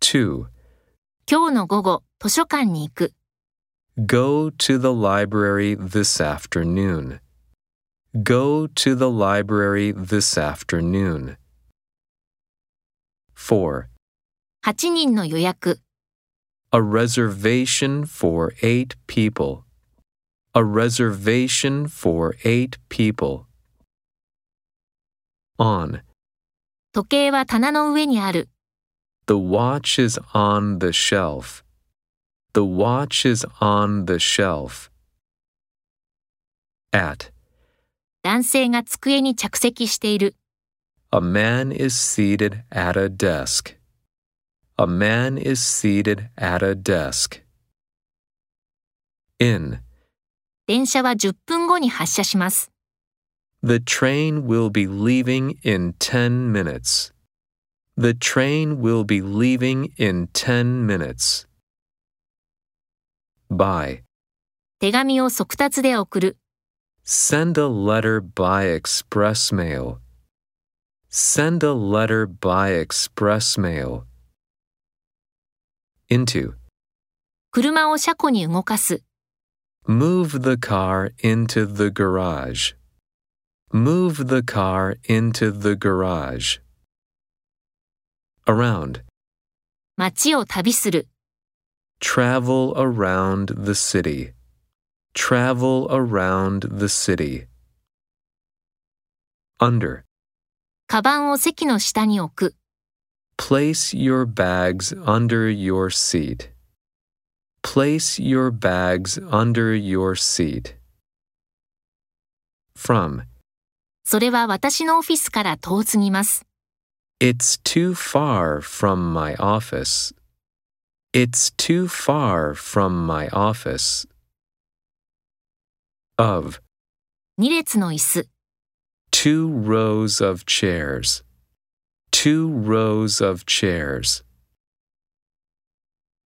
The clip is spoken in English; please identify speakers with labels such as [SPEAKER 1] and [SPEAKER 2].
[SPEAKER 1] 2.
[SPEAKER 2] 今日の午後、図書館に行く。
[SPEAKER 1] Go to the library this afternoon. Go to the library this afternoon. 4.
[SPEAKER 2] 8人の予約。
[SPEAKER 1] A reservation for 8 people. A reservation for 8 people. On.
[SPEAKER 2] 時計は棚の上にある。
[SPEAKER 1] The watch is on the shelf. The watch is on the shelf. At.
[SPEAKER 2] 男性が机に着席している。
[SPEAKER 1] A man is seated at a desk. A man is seated at a desk. In.
[SPEAKER 2] 電車は10分後に発車します。
[SPEAKER 1] The train will be leaving in 10 minutes. The train will be leaving in 10 minutes. By.
[SPEAKER 2] 手紙を速達で送る。
[SPEAKER 1] Send a letter by express mail. Send a letter by express mail. Into.
[SPEAKER 2] 車を車庫に動かす。
[SPEAKER 1] Move the car into the garage. Move the car into the garage. Around.
[SPEAKER 2] 街を旅する。
[SPEAKER 1] Travel around the city. Travel around the city. Under.
[SPEAKER 2] カバンを席の下に置く。
[SPEAKER 1] Place your bags under your seat. Place your bags under your seat. From.
[SPEAKER 2] それは私のオフィスから遠すぎます。
[SPEAKER 1] It's too far from my office. It's too far from my office. Of.
[SPEAKER 2] 2列の椅子。
[SPEAKER 1] 2 rows of chairs. 2 rows of chairs.